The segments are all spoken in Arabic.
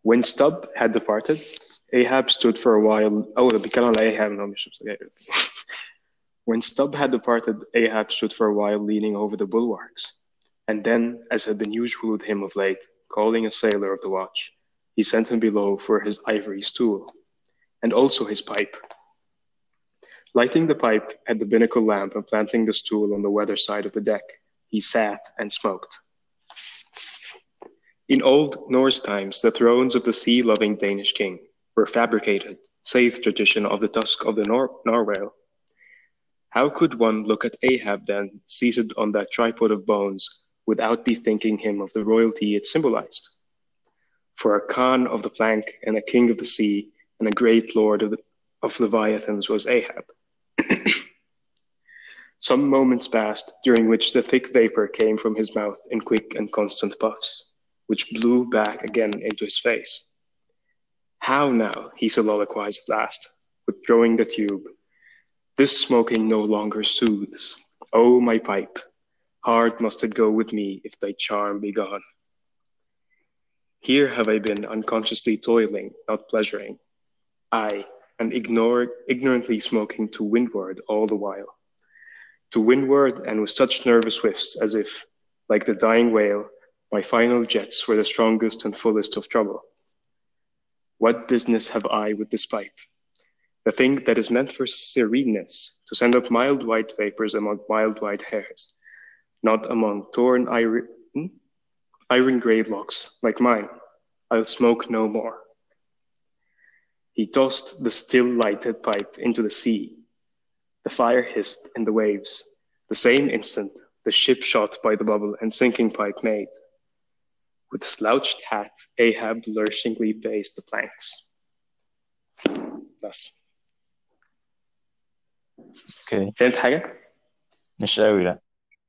When Stubb had departed, Ahab stood for a while. Oh, بيتكلم على Ahab no مش سجاير. When Stubb had departed, Ahab stood for a while leaning over the bulwarks, and then, as had been usual with him of late, calling a sailor of the watch, he sent him below for his ivory stool, and also his pipe. Lighting the pipe at the binnacle lamp and planting the stool on the weather side of the deck, he sat and smoked. In old Norse times, the thrones of the sea-loving Danish king were fabricated, saith tradition, of the tusk of the narwhal. How could one look at Ahab then, seated on that tripod of bones, without bethinking him of the royalty it symbolized? For a Khan of the plank and a king of the sea and a great lord of Leviathans was Ahab. Some moments passed, during which the thick vapor came from his mouth in quick and constant puffs, which blew back again into his face. How now, he soliloquized at last, withdrawing the tube. This smoking no longer soothes. Oh, my pipe, hard must it go with me if thy charm be gone. Here have I been unconsciously toiling, not pleasuring. I, and ignorantly smoking to windward all the while. To windward, and with such nervous whiffs as if, like the dying whale, my final jets were the strongest and fullest of trouble. What business have I with this pipe? The thing that is meant for sereneness, to send up mild white vapors among mild white hairs, not among torn iron-grey locks like mine. I'll smoke no more. He tossed the still lighted pipe into the sea. The fire hissed in the waves. The same instant, the ship shot by the bubble and sinking pipe made. With slouched hat, Ahab lurchingly paced the planks. بس. اوكي فهمت حاجة؟ مش قوي لا.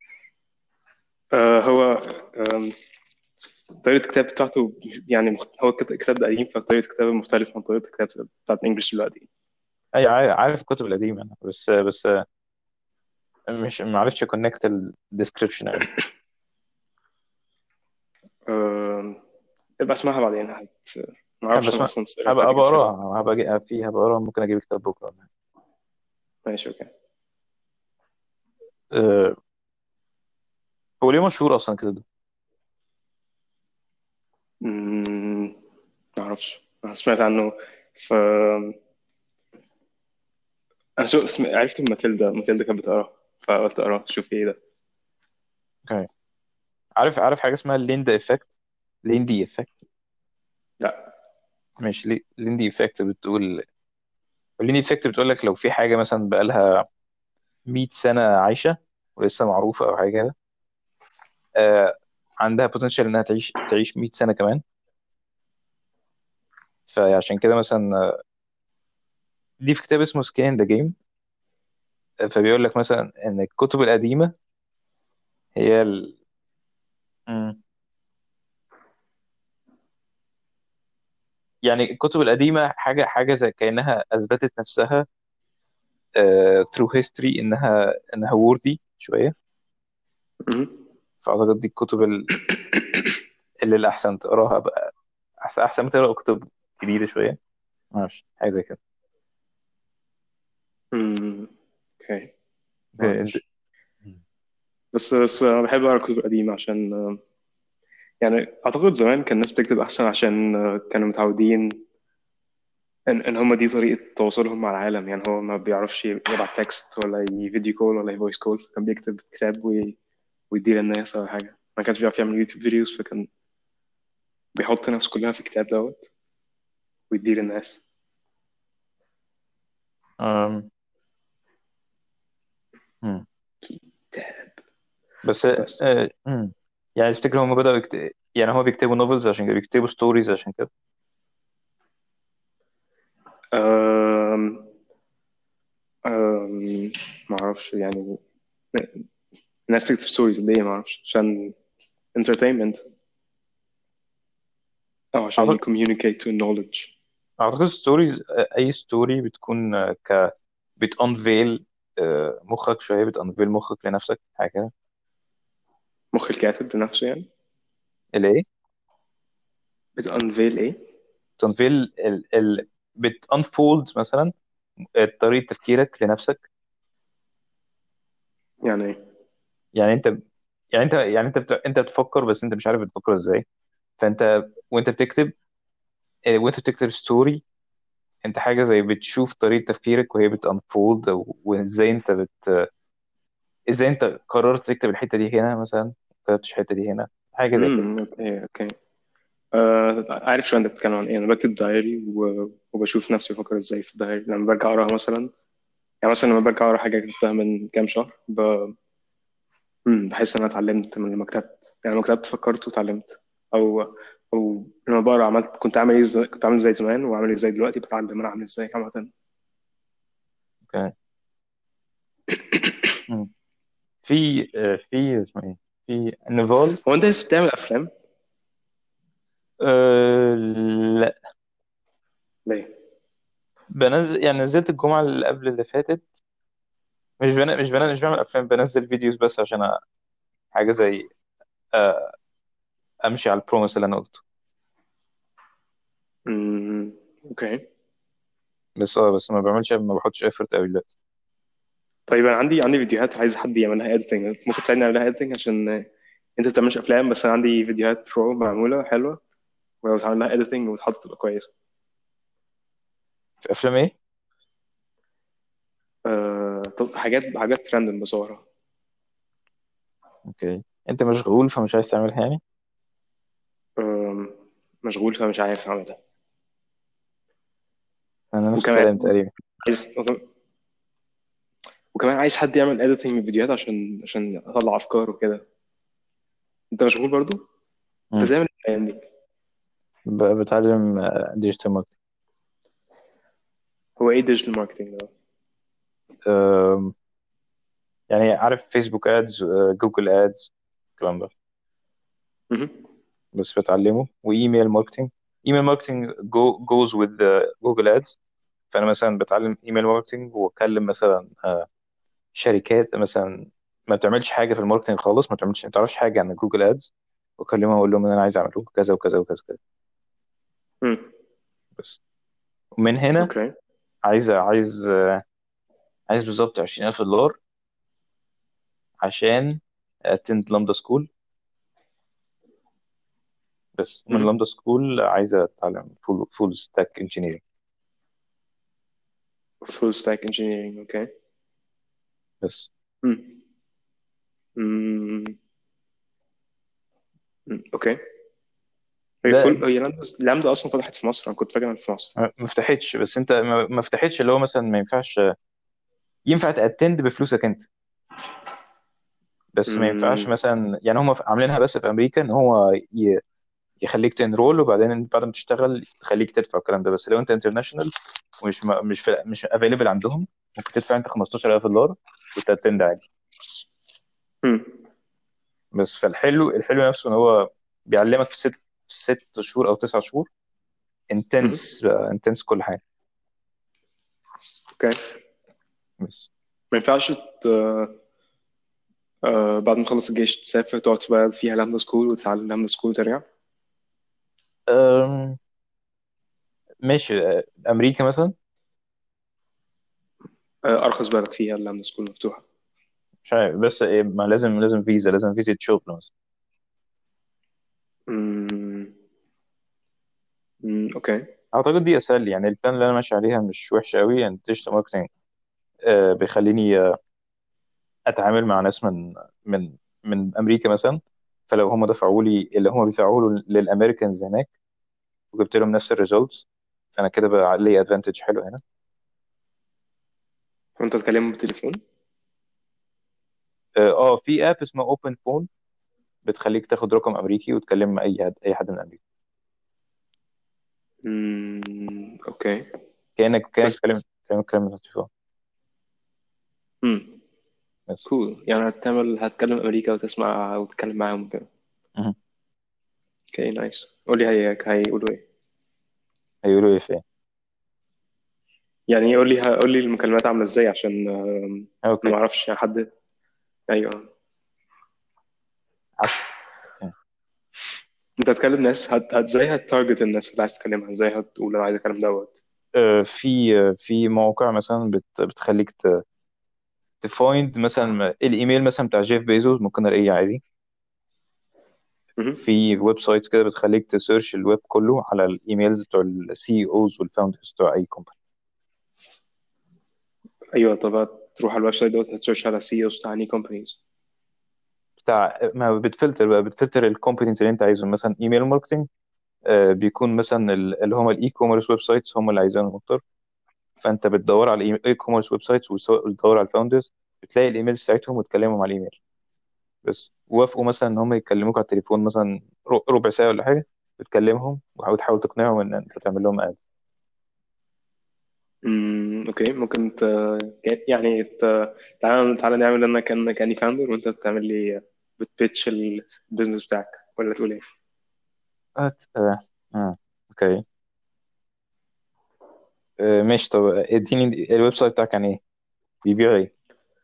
هو طريقة الكتاب بتاعته يعني هو الكتاب ده قديم فطريقة الكتابة مختلفة عن طريقة الكتاب بتاعت الإنجليش دلوقتي. اي عارف الكتب القديمه انا بس مش ما عرفتش كونكت الديسكريبشن قوي. ابقى اسمعها بعدين ما حابب اعرفش انا اسمع، اصلا قريت هبقى حاجة كده فين. اقراها، هبقى اقراها، ممكن اجيب كتاب بكره. ماشي اوكي. أه، هو ليه مشهور اصلا كده ده؟ ما اعرفش انا سمعت عنه ف انا عرفت إن ماتيلدا كانت بتقرا فقلت اقرا شوف ايه ده. اوكي. عارف حاجه اسمها ليندا افكت؟ ليندي افكت. لا. ماشي، ليندي افكت بتقول، ليندي افكت بتقول لك لو في حاجه مثلا بقالها 100 سنه عايشه ولسه معروفه او حاجه كده، آه، عندها بوتنشال انها تعيش 100 سنه كمان. فعشان كده مثلا دي في كتاب اسمه سكين ذا جيم. فبيقول لك مثلا ان الكتب القديمه هي مم. يعني الكتب القديمه حاجه زي كانها اثبتت نفسها through history انها worthy شويه. مم. فاعتقد دي الكتب اللي الاحسن تقراها بقى، احسن ما تقرا كتب جديده شويه. ما اعرفش حاجه زي كده. اوكي. ما انت اعرفش. بس انا بحب اقرا الكتب القديمة عشان يعني اعتقد زمان كان الناس بتكتب احسن عشان كانوا متعودين ان هم دي طريقة تواصلهم مع العالم. يعني هو ما بيعرفش يبعت تكست ولا فيديو كول ولا فويس كول فكان بيكتب كتاب ويديه للناس او حاجة. ما كانش بيعرف يعمل يوتيوب فيديوز فكان بيحط نفسه كلها في الكتاب دوت ويديه للناس. أم... مم. كتاب. بس بس يعني تفتكر هم بدأوا يعني هو بيكتبوا نوفلز عشان كده، بيكتبوا ستوريز عشان كده؟ أم... ما اعرفش يعني الناس تكتب ستوريز ليه؟ ما اعرفش عشان entertainment او عشان اعتقد communicate to knowledge. اعتقد ستوريز، اي ستوري بتكون بتانفيل مخك شويه، بتانفيل مخك لنفسك حاجه كده. مخ الكاتب لنفسه يعني الايه؟ بتانفيل ايه؟ بتنفيل بتانفولد مثلا طريقه تفكيرك لنفسك. يعني ايه؟ يعني انت انت بتفكر، بس انت مش عارف بتفكر ازاي. فانت وانت بتكتب وانت بتكتب ستوري، انت حاجه زي بتشوف طريقه تفكيرك وهي بتانفولد، وازاي ازاي انت قررت تكتب الحته دي هنا مثلا، ما كتبتش الحته دي هنا، حاجه زي كده. اوكي اوكي. عارف شو انت بتتكلم عن ايه. انا بكتب دايري وبشوف نفسي بفكر ازاي في الدايري لما برجع اقراها مثلا. يعني مثلا لما برجع اقرا حاجه كتبتها من كام شهر بحس ان انا اتعلمت من لما كتبت. يعني لما كتبت فكرت واتعلمت. او او لما بقرا عملت كنت عامل زي زمان وعامل ازاي دلوقتي بتعلم انا عامل ازاي عامه. اوكي. مم. في اسمه ايه، في نيفال. هو انت لسه بتعمل افلام؟ أه لا، ليه؟ بنزل يعني نزلت الجمعه اللي قبل اللي فاتت. مش بعمل افلام، بنزل فيديوز بس عشان حاجه زي أه امشي على البروميس اللي انا قلته. اوكي. بس ما بعملش، ما بحطش افورت قوي دلوقتي. طيب انا عندي فيديوهات عايز حد يعملها اديتنج. ممكن تساعدني اعملها اديتنج عشان انت ما بتعملش افلام، بس انا عندي فيديوهات رو معموله حلوه، ولو اتعمل لها اديتنج وتحط تبقى كويسه. في افلام ايه؟ طب حاجات راندوم بصورها. اوكي، انت مشغول فمش عايز تعملها يعني. آه مشغول فمش عارف اعملها. انا نفس وكمان الكلام تقريبا. عايز وكمان عايز حد يعمل اديتنج للفيديوهات عشان اطلع افكار وكده. انت مشغول برضو؟ انت مم. بتعمل ايه الايام دي؟ بتعلم ديجيتال ماركتنج. هو ايه ديجيتال ماركتنج ده؟ يعني عارف فيسبوك ادز، جوجل ادز، الكلام ده. مهم. بس بتعلمه، وايميل ماركتنج. ايميل ماركتنج جوز وذ جوجل ادز. فانا مثلا بتعلم ايميل ماركتنج، واكلم مثلا شركات مثلا ما بتعملش حاجه في الماركتنج خالص، ما تعرفش حاجه عن جوجل ادز، واكلمهم واقول لهم ان انا عايز اعمل لكم كذا وكذا وكذا كذا. مم. بس ومن هنا اوكي. عايز بالظبط $20,000 عشان اتند لامدا سكول. بس من مهم. لامدا سكول عايز اتعلم فول ستاك انجينيرنج. فول ستاك انجينيرنج. اوكي. بس مم. مم. اوكي. ده هي لامدا اصلا فتحت في مصر. انا كنت فاكر إنها في مصر. ما فتحتش، بس انت ما فتحتش اللي هو مثلا ما ينفعش، ينفع تأتند بفلوسك انت، بس ما ينفعش مم. مثلا. يعني هم عاملينها بس في امريكا ان هو يخليك تنرول، وبعدين بعد ما تشتغل تخليك تدفع الكلام ده. بس لو انت انترناشونال ومش مش افيلبل عندهم، ممكن تدفع انت $15,000 وتأتند عادي. مم. بس الحلو نفسه ان هو بيعلمك في 6 شهور او 9 شهور مهم. انتنس كل حاجه. اوكي. بس ما ينفعش بعد ما تخلص الجيش تسافر تقعد تشتغل فيها لامدا سكول وتتعلم لامدا سكول وترجع؟ أم، ماشي. امريكا مثلا. ارخص بلد فيها اللامدا سكول مفتوحه. مش عارف، بس إيه، ما لازم فيزا، لازم فيزا شغل مثلا. مم. اوكي. اعتقد دي اسهل لي. يعني البلان اللي انا ماشي عليها مش وحشه قوي. يعني ديجيتال ماركتنج بيخليني اتعامل مع ناس من امريكا مثلا. فلو هم دفعوا لي اللي هم بيدفعوه للامريكانز هناك، وجبت لهم نفس الريزلتس، فانا كده بقى لي ادفانتج حلو هنا. وانت تكلمه بالتليفون؟ في اب اسمه اوبن فون، بتخليك تاخد رقم امريكي وتكلم اي حد من امريكا. اوكي. كانك بس بتتكلم من التليفون. امم بس كول. يعني هتكلم امريكا وتسمع وتتكلم معاهم كده. مهم. اوكي نايس. قول لي هيقولوا ايه. هيقولوا ايه فين؟ قول لي المكالمات عامله ازاي عشان انا اوكي. ما اعرفش يعني حد. ايوه. عارف. اوكي. انت هتكلم ناس ازاي هتارجت الناس اللي عايز تكلمها؟ ازاي هتقول انا عايز اكلم دوت؟ في مواقع مثلا بتخليك تفايند مثلا الايميل مثلا بتاع جيف بيزوس، ممكن الاقيه عادي. مهم. في ويب سايتس كده بتخليك تسيرش الويب كله على الايميلز بتوع السي اوز والفاوندرز بتوع اي كومباني. ايوه، طب تروح على الويب سايت دوت هتسيرش على سي اوز بتاع اني كومبانيز. بتاع ما بتفلتر بقى، بتفلتر الكومبانيز اللي انت عايزهم، مثلا ايميل ماركتنج بيكون مثلا اللي هم الاي كوميرس ويب سايتس هم اللي عايزينهم اكتر. فانت بتدور على الاي كوميرس ويب سايتس وتدور على الفاوندرز، بتلاقي الايميل بتاعتهم وتكلمهم على الايميل. بس وافقوا مثلا ان هم يكلموك على التليفون مثلا ربع ساعه ولا حاجه، بتكلمهم وتحاول تقنعهم ان انت تعمل لهم اد. اوكي، ممكن يعني تعالى نعمل انا كاني فاوندر، وانت تعمل لي بتبيتش البيزنس بتاعك، ولا تقول ايه؟ أت... آه. آه. اوكي. ماشي، طب اديني الويب سايت بتاعك عن ايه، بيبيع ايه؟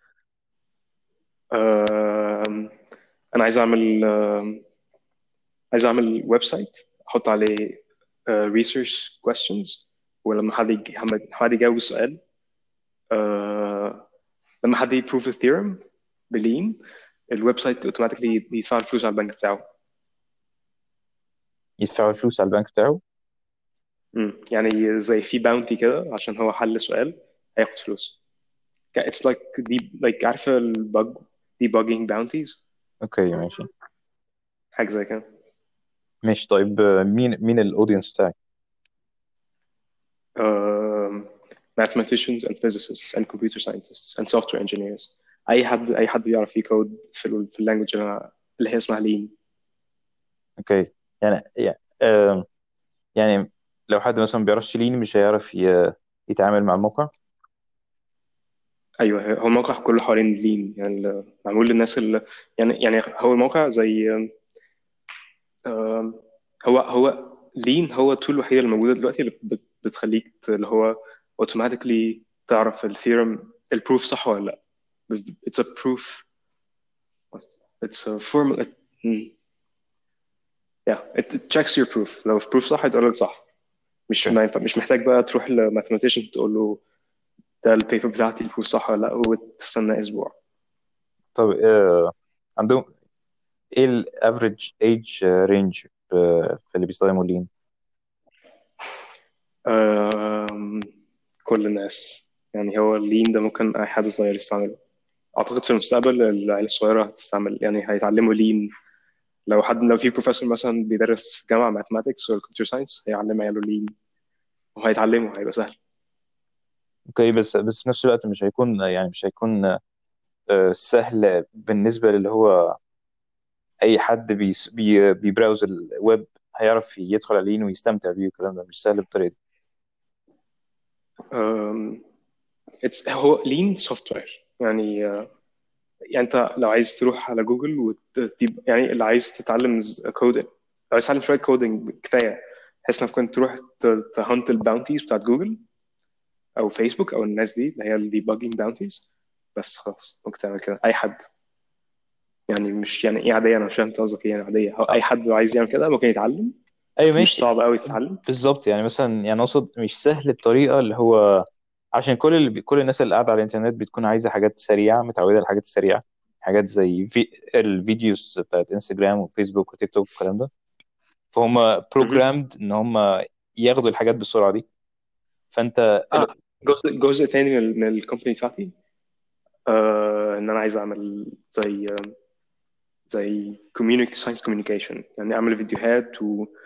آم، انا عايز اعمل ويب سايت احط عليه research questions، ولما حد يجاوب السؤال، آه، لما حد يبروف الثيورم بلين، الويب سايت اوتوماتيكلي يدفع الفلوس على البنك بتاعه. يدفعوا الفلوس على البنك بتاعه؟ يعني زي في باونتي كده عشان هو حل سؤال، هياخد فلوس. It's like عارفة البج debugging bounties، اوكي ماشي. حاجة زي كده. ماشي طيب، مين الاودينس بتاعك؟ um, mathematicians and physicists and computer scientists and software engineers. اي حد بيعرف يكود في اللانجوج اللي هي اسمها لين. اوكي. يعني يعني لو حد مثلا بيعرفش لين مش هيعرف يتعامل مع الموقع. ايوه، هو الموقع كله حوالين لين، يعني معمول للناس اللي يعني هو الموقع زي um, هو لين هو التول الوحيده اللي موجوده دلوقتي اللي بتخليك اللي هو automatically تعرف الثيورم البروف صح ولا لا. It's a proof. It's a formal. Yeah, it checks your proof. لو البروف صح هيتقول لك صح. مش اوكي. ما ينفع، مش محتاج بقى تروح لماثيماتيشن تقول له ده البيبر بتاعتي البروف صح ولا لا، وتستنى اسبوع. طب عندهم ايه الافريج ايج رينج في اللي بيستخدموا لين؟ أم... كل الناس، يعني هو اللين ده ممكن اي حد صغير يستعمله. اعتقد في المستقبل العيال الصغيره هتستعمل، يعني هيتعلموا لين. لو في بروفيسور مثلا بيدرس في جامعه ماثماتكس ولا كمبيوتر ساينس هيعلم عياله لين، وهيتعلموا هيبقى سهل. اوكي، بس في نفس الوقت مش هيكون، يعني مش هيكون سهل بالنسبة للي هو أي حد بيبراوز الويب هيعرف يدخل على لين ويستمتع بيه، والكلام ده مش سهل بالطريقة دي. أم... هو لين سوفت وير يعني. يعني انت لو عايز تروح على جوجل يعني اللي عايز تتعلم كودينج، لو عايز تتعلم شويه كودينج كفايه بحيث انك كنت تروح تهنت الباونتيز بتاعت جوجل او فيسبوك او الناس دي اللي هي الديباجينج باونتيز. بس خلاص ممكن تعمل كده اي حد. يعني مش يعني ايه عاديه، انا مش فاهم انت قصدك ايه يعني عاديه. اي حد لو عايز يعمل كده ممكن يتعلم. أيوة مش ماشي. صعب قوي تتعلم. بالظبط، يعني مثلا يعني أقصد مش سهل الطريقة اللي هو، عشان كل الناس اللي قاعدة على الإنترنت بتكون عايزة حاجات سريعة، متعودة على الحاجات السريعة، حاجات زي الفيديوز بتاعت انستجرام وفيسبوك وتيك توك والكلام ده. فهم مهم. بروجرامد ان هم ياخدوا الحاجات بالسرعه دي. فانت جزء تاني من الكومباني بتاعتي، ان انا عايز اعمل زي ساينس كوميونيكيشن، يعني اعمل فيديوهات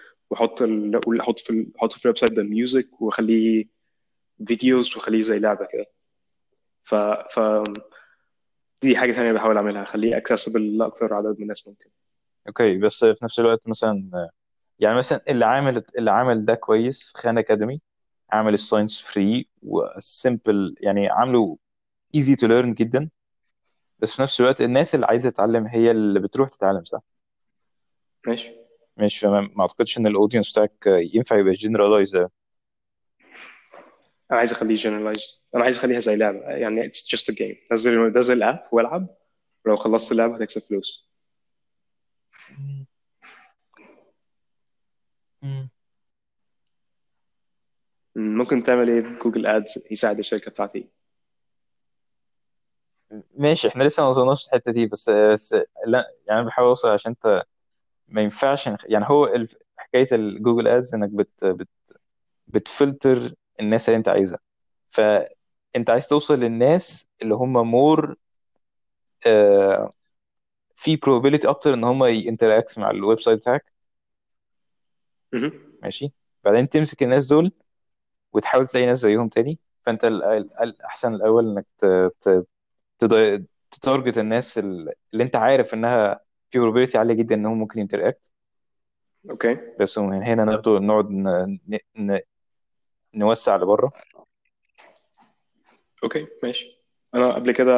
احط في الويب سايت ده ميوزك واخليه فيديوز واخليه زي لعبه كده. ف ف دي حاجه ثانيه بحاول اعملها، اخليه اكسسبل لاكثر عدد من الناس ممكن. اوكي، بس في نفس الوقت مثلا يعني مثلا اللي عامل ده كويس، خان اكاديمي عامل الساينس فري والسيمبل، يعني عامله ايزي تو ليرن جدا. بس في نفس الوقت الناس اللي عايزه تتعلم هي اللي بتروح تتعلم، صح؟ ماشي. مش ما اعتقدش ان الاودينس بتاعك ينفع يبقى جنرالايز. انا عايز اخليه generalized، انا عايز اخليها زي لعبه، يعني it's just a game. نزل الاب والعب، ولو خلصت اللعبه هتكسب فلوس. مم. ممكن تعمل ايه بجوجل ادز يساعد الشركه بتاعتي؟ ماشي، احنا لسه ما وصلناش الحته دي، بس لا يعني انا بحاول اوصل عشان انت ما ينفعش يعني هو حكايه الجوجل ادز انك بتفلتر الناس اللي انت عايزها. فانت عايز توصل للناس اللي هم مور في probability اكتر ان هم ينتراكت مع الويب سايت بتاعك. مهم. ماشي. بعدين تمسك الناس دول وتحاول تلاقي ناس زيهم تاني. فانت الاحسن الاول انك تتارجت الناس اللي انت عارف انها في probability عاليه جدا انهم ممكن ينتراكت. اوكي. بس من هنا ناخده نقعد نوسع لبره. اوكي ماشي. انا قبل كده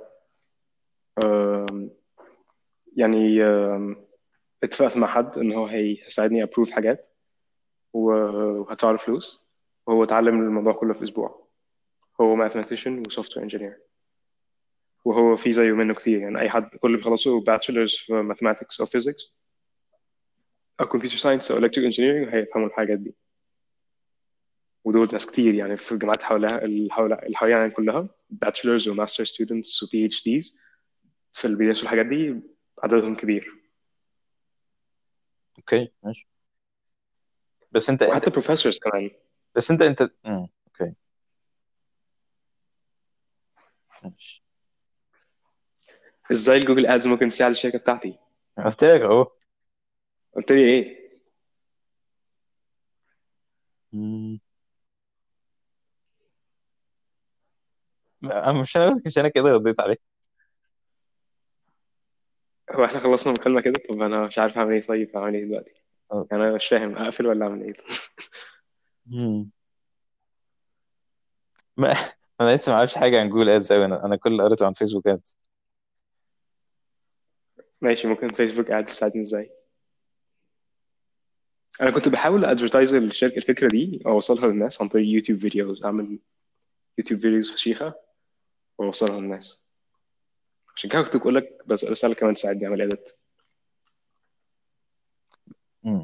آم، يعني اتفقت مع حد ان هو هيساعدني ابروف حاجات وهدفع له فلوس، وهو اتعلم الموضوع كله في اسبوع. هو ماثيماتيشن وسوفت وير انجينير، وهو في زيه منه كتير. يعني اي حد كل اللي بيخلصوا باتشلرز في ماثماتكس او فيزيكس او كمبيوتر ساينس او الكتريك انجينيرنج هيفهموا الحاجات دي. ودول ناس كتير يعني في الجامعات حواليها اللي حوالينا يعني كلها باتشلرز وماستر ستودنتس وبي اتش ديز في اللي بيدرسوا الحاجات دي، عددهم كبير. اوكي ماشي. بس انت وحتى بروفيسورز كمان. بس انت اوكي ماشي. ازاي جوجل ادز ممكن تساعد الشركه بتاعتي؟ قلت لك اهو. قلت لي ايه؟ مش انا كده رديت عليك. هو احنا خلصنا المكالمه كده؟ طب انا مش عارف اعمل ايه. طيب اعمل ايه دلوقتي؟ أه. يعني انا مش فاهم اقفل ولا اعمل ايه. مم. ما انا لسه ما اعرفش حاجه عن جوجل ادز قوي. انا كل اللي قريته عن فيسبوك ادز. ماشي، ممكن فيسبوك ادز تساعدني ازاي؟ انا كنت بحاول ادفرتايز الشركه الفكره دي اوصلها للناس عن طريق يوتيوب فيديوز، اعمل يوتيوب فيديوز فشيخه واوصلها للناس. عشان كده كنت بقول لك بس رساله كمان تساعدني اعمل اديت. مم.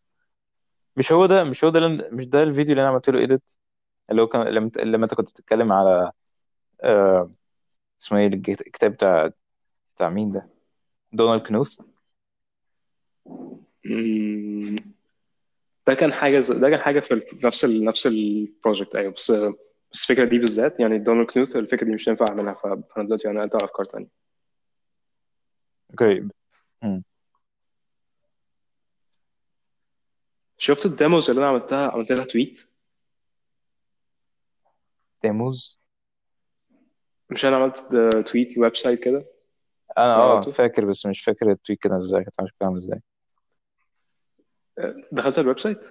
مش ده الفيديو اللي انا عملت له ايديت، اللي هو كان لما انت كنت بتتكلم على آه... اسمه ايه الكتاب بتاع مين ده؟ دونالد كنوث. ده كان حاجه في نفس البروجكت. ايوه، بس الفكره دي بالذات يعني دونالد كنوث الفكره دي مش هينفع اعملها. فانا دلوقتي انا ادي افكار تانية. اوكي. مم. شفت الديموز اللي انا عملت لها تويت؟ تيموز. مش انا عملت تويت ويب سايت كده؟ انا انا عملته. فاكر، بس مش فاكر التويت كده ازاي، كانت عامل ازاي. دخلت الويب سايت.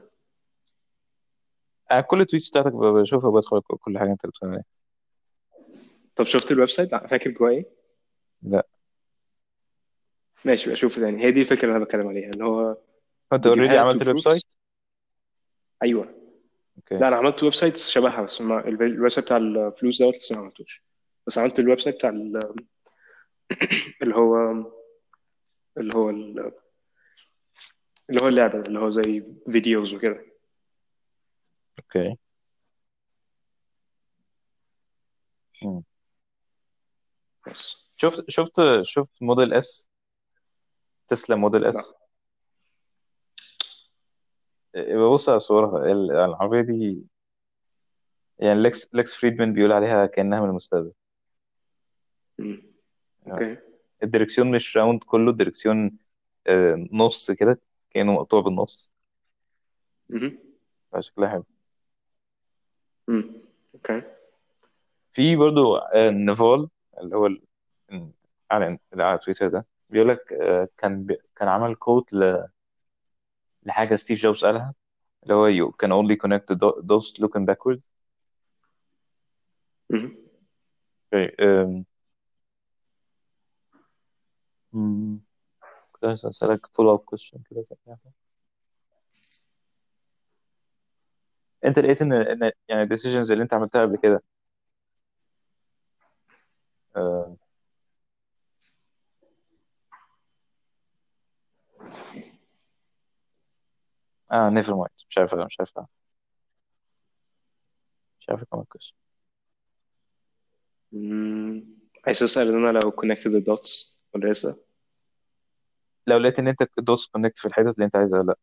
انا كل التويتس بتاعتك بشوفها وبدخل كل حاجه انت بتقولها لي. طب شفت الويب سايت؟ فاكر جواه ايه؟ لا. ماشي بقى اشوفه تاني. هي دي الفكره اللي انا بتكلم عليها، اللي هو انت اوريدي فيديوهات عملت الويب سايت؟ وبروفس. ايوه. اوكي. لا انا عملت ويب سايت شبهها، بس الويب سايت بتاع الفلوس دوت لسه ما عملتوش. بس عملت الويب سايت بتاع اللي هو اللي هو اللي هو اللعبه، اللي هو زي فيديوز وكده. اوكي. مم. بس. شفت موديل اس، تسلا موديل لا. اس. ببص على صورها العربيه دي. يعني ليكس فريدمان بيقول عليها كانها من المستقبل. مم. يعني اوكي. الدركسيون مش راوند كله، الدركسيون نص كده، كانه مقطوع بالنص. مهم. فشكلها حلو. مم. اوكي. في برضو نيفال، اللي هو على تويتر ده، بيقول لك كان عمل كوت لحاجه ستيف جوبز قالها، اللي هو you can only connect the dots looking backward. مهم. Okay. كنت عايز اسالك follow up question كده زي كده. انت لقيت ان يعني الديسيجنز اللي انت عملتها قبل كده آه، اه نيفر مايند، مش عارف كمان كويس. مم. عايز اسال ان انا لو connected the dots ولا لسه؟ لو لقيت ان انت دوتس كونكت في الحتت اللي انت عايزها ولا لا.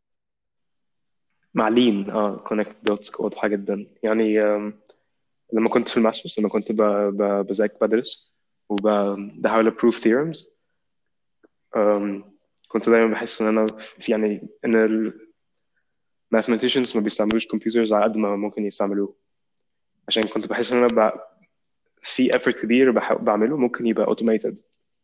مع لين connect dots واضحه جدا يعني. لما كنت في الماسترز، لما كنت بذاكر بدرس وبحاول prove theorems. كنت دايما بحس ان انا في يعني ان ال mathematicians ما بيستعملوش computers على قد ما ممكن يستعملوه. عشان كنت بحس ان انا في effort كبير بعمله ممكن يبقى automated.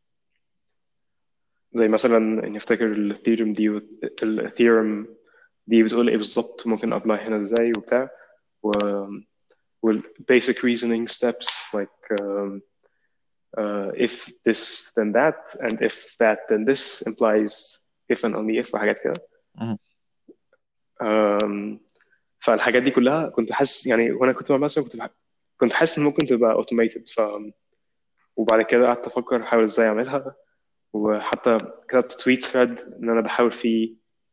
زي مثلا اني افتكر الثيورم دي الثيورم دي بتقول ايه بالظبط، ممكن ابلاي هنا ازاي وبتاع. و وال basic reasoning steps like if this then that and if that then this implies if and only if وحاجات كده. مهم. um, فالحاجات دي كلها كنت حاسس يعني وانا كنت مع مثلا كنت حاسس ان ممكن تبقى automated. وبعد كده قعدت افكر احاول ازاي اعملها. وحتى كتبت تويت ثريد ان انا بحاول فيه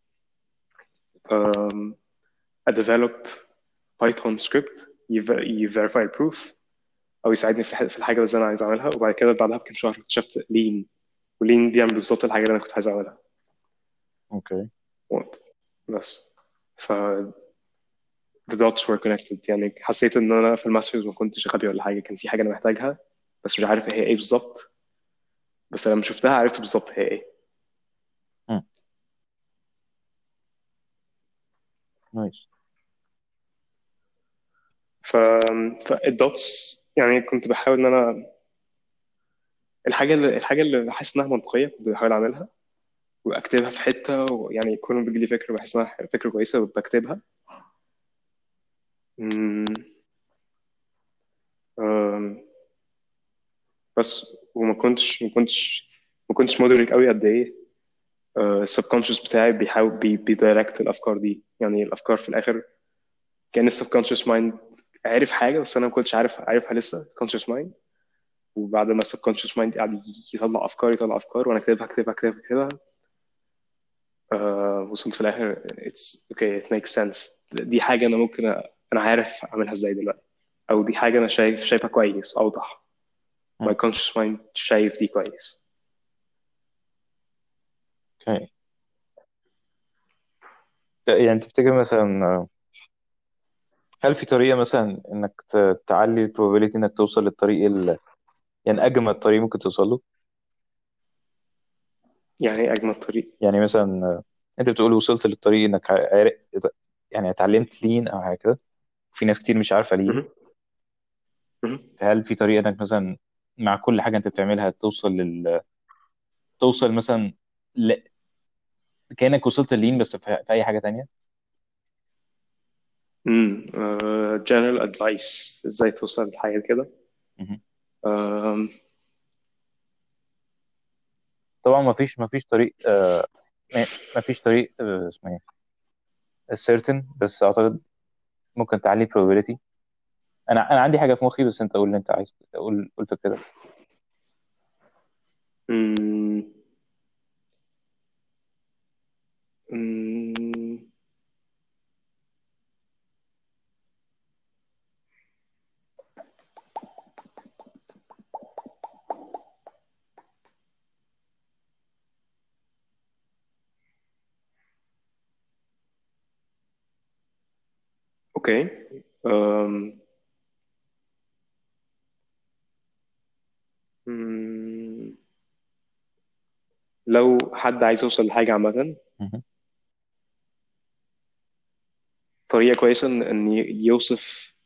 um, develop بايثون سكريبت يفيريفاي البروف او يساعدني في الحاجه اللي انا عايز اعملها. وبعد كده بعدها بكام شهر اكتشفت لين، ولين بيعمل بالظبط الحاجه اللي انا كنت عايز اعملها. اوكي. وقت بس. ف the dots were connected يعني. حسيت ان انا في الماسترز ما كنتش غبي ولا حاجه، كان في حاجه انا محتاجها بس مش عارف هي ايه بالظبط. بس لما شفتها عرفت بالظبط هي ايه. نايس. ف فالدوتس يعني كنت بحاول ان انا الحاجه اللي بحس انها منطقيه كنت بحاول اعملها واكتبها في حته. ويعني كل ما بيجي لي فكره بحس انها فكره كويسه بكتبها. مم، آم، بس وما كنتش مدرك قوي قد ايه السبكونشس بتاعي بيحاول بيدايركت الافكار دي. يعني الافكار في الاخر كان السبكونشس مايند عارف حاجه بس انا ما كنتش عارفها لسه conscious mind. وبعد ما السبكونشس مايند قاعد يطلع افكار وانا اكتبها. وصلت في الاخر it's okay it makes sense. دي حاجه انا ممكن انا عارف اعملها ازاي دلوقتي. او دي حاجه انا شايفها كويس اوضح. my مم. conscious mind شايف دي كويس. اوكي. يعني تفتكر مثلا هل في طريقة مثلا انك تعلي البروبابيلتي انك توصل للطريق يعني اجمل طريق ممكن توصل له؟ يعني ايه اجمل طريق؟ يعني مثلا انت بتقول وصلت للطريق انك يعني اتعلمت لين او حاجة كده. في ناس كتير مش عارفة لين. مهم. مهم. فهل في طريقة انك مثلا مع كل حاجة انت بتعملها توصل مثلا ل... كأنك وصلت لين بس في اي حاجة تانية؟ general advice ازاي توصل لحاجه كده. مهم. آم، طبعا ما فيش طريق ما فيش طريق اسمه ايه certain، بس اعتقد ممكن تعلي probability. انا عندي حاجه في مخي، بس انت قول اللي انت عايز، قول فكرتك. مم، مم، اوكي. آم، مم، لو حد عايز يوصل لحاجه عامه، مهم. طريقه كويسه ان يوصف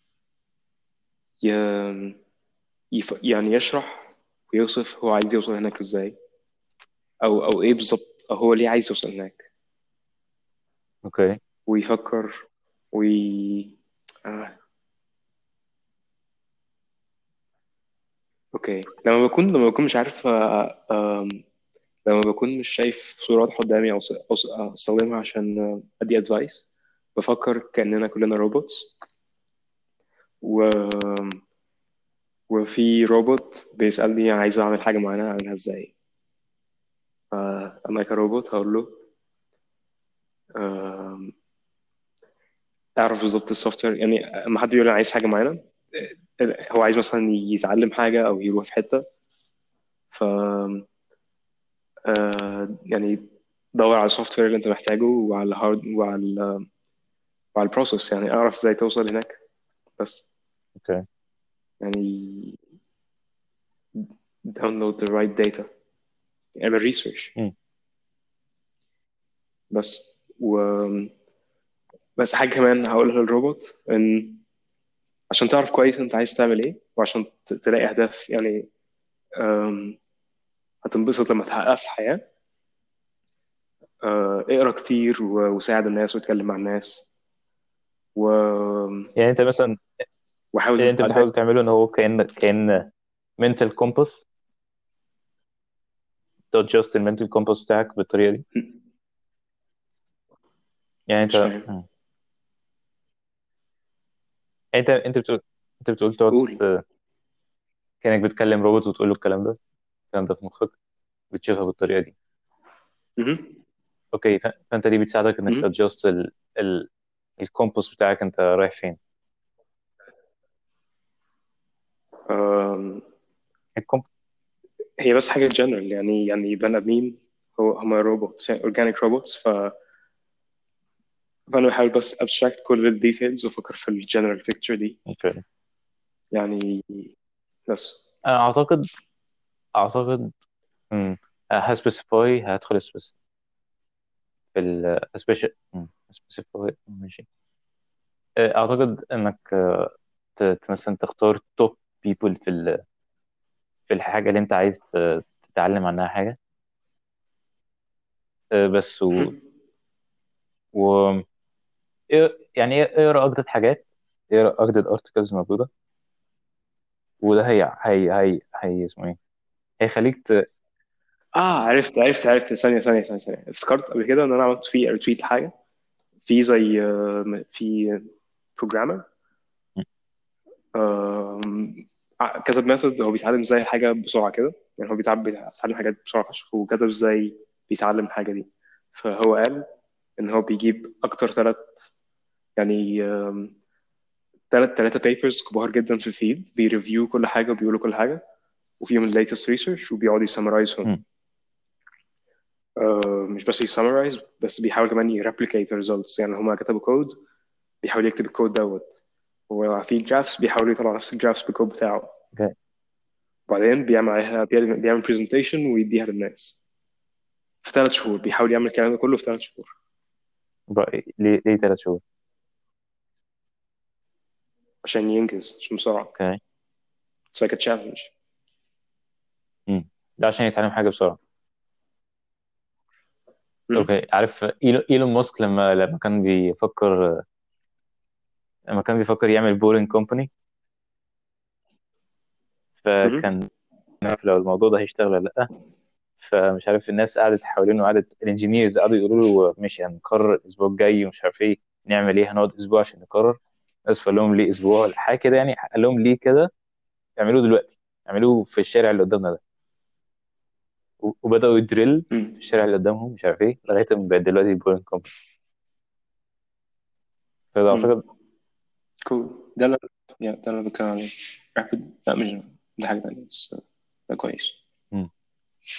يعني يشرح ويوصف هو عايز يوصل هناك ازاي. او ايه بالظبط، او هو ليه عايز يوصل هناك. اوكي. ويفكر وي آه. اوكي. لما بكون مش عارف لما بكون مش شايف صورة واضحة قدامي أو استخدمها عشان ادي ادفايس. بفكر كأننا كلنا روبوتس. و... وفي روبوت بيسألني عايز اعمل حاجة معينة اعملها ازاي. انا كروبوت هقول له اعرف بالظبط السوفت وير. يعني لما حد يقول انا عايز حاجه معينه، هو عايز مثلا يتعلم حاجه او يروح في حته، ف يعني دور على السوفت وير اللي انت محتاجه، وعلى الهارد، وعلى البروسيس، يعني اعرف ازاي توصل هناك بس. اوكي. يعني download the right data، اعمل ريسيرش مم. بس. بس حاجه كمان هقولها للروبوت، ان عشان تعرف كويس انت عايز تعمل ايه، وعشان تلاقي اهداف يعني أم، هتنبسط لما تحققها في الحياه. اقرا كتير وساعد الناس واتكلم مع الناس و... يعني انت مثلا اللي وحاول انت بتحاول تعمله ان هو كأن mental compass، تادجست المنتال كومباس بتاعك بالطريقه دي. يعني مش انت فاهم. انت بتقول، انت بتقول تقعد قول. كأنك بتكلم روبوت وتقول له الكلام ده، الكلام ده في مخك بتشوفها بالطريقه دي. مهم. اوكي، فانت دي بتساعدك انك مهم. تادجست ال الكومباس بتاعك، انت رايح فين. أم، الكومب هي بس حاجه جنرال، يعني بني ادمين، هم روبوتس، يعني اورجانيك روبوتس. فانا بحاول بس ابستراكت كل الديتيلز وافكر في الجنرال بيكتشر دي اوكي. يعني. بس. انا اعتقد هسبيسيفاي، هدخل في ال سبيسيفاي ماشي. اعتقد انك مثلا تختار توب بيبل في الحاجه اللي انت عايز تتعلم عنها حاجه. بس مهم. و... يعني اقرا اجدد حاجات، اقرا اجدد ارتكلز موجوده، وده هي اسمه ايه، هيخليك عرفت. ثانيه افتكرت قبل كده ان انا عملت فيه ريتويت لحاجه، في زي في بروجرامر كتب ميثود هو بيتعلم ازاي حاجه بسرعه كده. يعني هو بيتعلم حاجات بسرعه فشخ، وكتب ازاي بيتعلم الحاجه دي. فهو قال ان هو بيجيب اكتر يعني ثلاثه بيبرز كبار جدا في الفيلد، بيريفيو كل حاجه وبيقولوا كل حاجه، وفيهم الليتست ريسيرش، وبيقعد يسمرايزهم. مم. مش بس يسمرايز، بس بيحاول كمان يريبليكيت الريزلتس. يعني هما كتبوا كود، بيحاول يكتب الكود دوت، وفي جرافس بيحاول يطلع نفس الجرافس بالكود بتاعه. اوكي. وبعدين بيعمل عليها، بيعمل برزنتيشن ويديها للناس في 3 شهور. بيحاول يعمل الكلام ده كله في 3 شهور بقى ليه 3 شهور؟ عشان ينجز، عشان بسرعة. اوكي. It's like a challenge. ده عشان يتعلم حاجه بسرعه. مم. اوكي. عارف ايلون ماسك لما كان بيفكر يعمل بورينج كومباني، مم. فكان عارف لو الموضوع ده هيشتغل ولا لا. فمش عارف الناس قعدت حوالينه، قعدت الانجينيرز قعدوا يقولوا له ماشي هنقرر الاسبوع الجاي ومش عارف ايه نعمل ايه، هنقعد اسبوع عشان نقرر. بس فقال لهم ليه اسبوع ولا حاجه كده، يعني قال لهم ليه كده، اعملوه دلوقتي، اعملوه في الشارع اللي قدامنا ده. وبداوا يدريل في مم. الشارع اللي قدامهم مش عارف ايه لغايه ما بقت دلوقتي بورينج كومباني. فده مم. اعتقد. كول ده اللي بتكلم عليه. رابid، لا مش ده، حاجة تانية بس ده كويس.